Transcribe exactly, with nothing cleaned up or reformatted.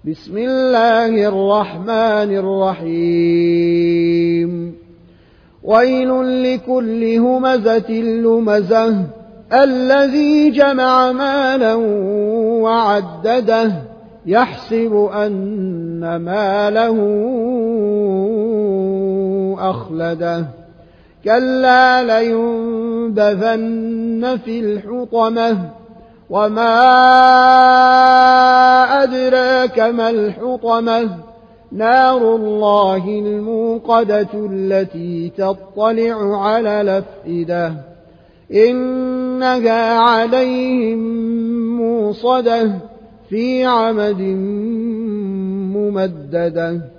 بسم الله الرحمن الرحيم ويل لكل همزة لمزة الذي جمع مالا وعدده يحسب أن ماله أخلده كلا لينبذن في الحطمة وما أدراك ما الحطمة نار الله الموقدة التي تطلع على الأفئدة إنها عليهم موصدة في عمد ممددة.